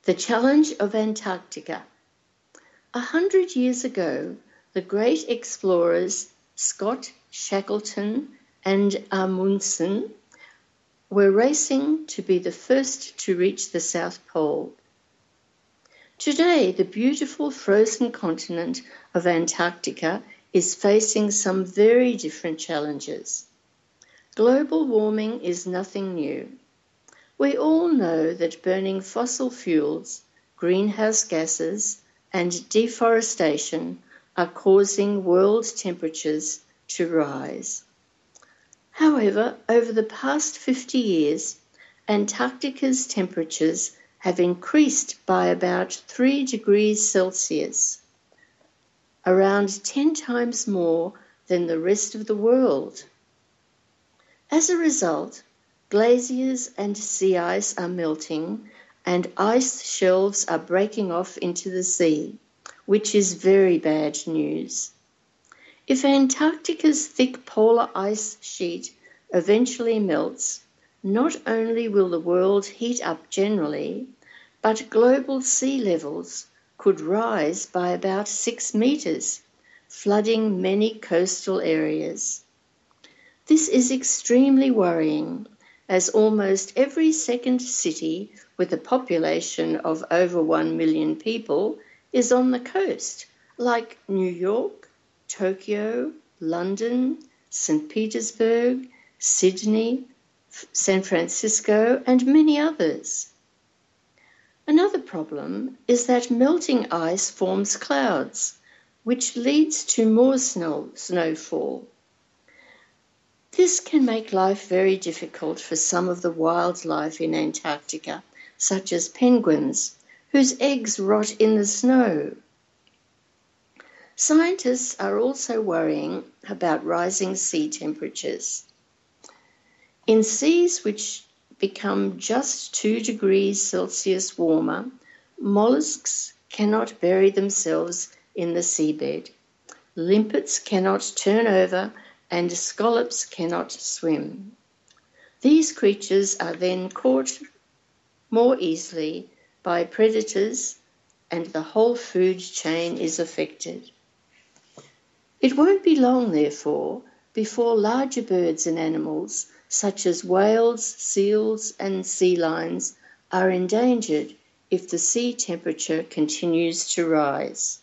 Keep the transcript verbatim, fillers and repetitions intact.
The Challenge of Antarctica. A hundred years ago, the great explorers Scott, Shackleton, and Amundsen were racing to be the first to reach the South Pole. Today, the beautiful frozen continent of Antarctica is facing some very different challenges. Global warming is nothing new. We all know that burning fossil fuels, greenhouse gases, and deforestation are causing world temperatures to rise. However, over the past fifty years, Antarctica's temperatures have increased by about three degrees Celsius, around ten times more than the rest of the world. As a result, glaciers and sea ice are melting and ice shelves are breaking off into the sea, which is very bad news. If Antarctica's thick polar ice sheet eventually melts, not only will the world heat up generally, but global sea levels could rise by about six metres, flooding many coastal areas. This is extremely worrying, as almost every second city with a population of over one million people is on the coast, like New York, Tokyo, London, Saint Petersburg, Sydney, San Francisco, and many others. Another problem is that melting ice forms clouds, which leads to more snow, snowfall. This can make life very difficult for some of the wildlife in Antarctica, such as penguins, whose eggs rot in the snow. Scientists are also worrying about rising sea temperatures. In seas which become just two degrees Celsius warmer, mollusks cannot bury themselves in the seabed. Limpets cannot turn over and scallops cannot swim. These creatures are then caught more easily by predators and the whole food chain is affected. It won't be long, therefore, before larger birds and animals, such as whales, seals, and sea lions, are endangered if the sea temperature continues to rise.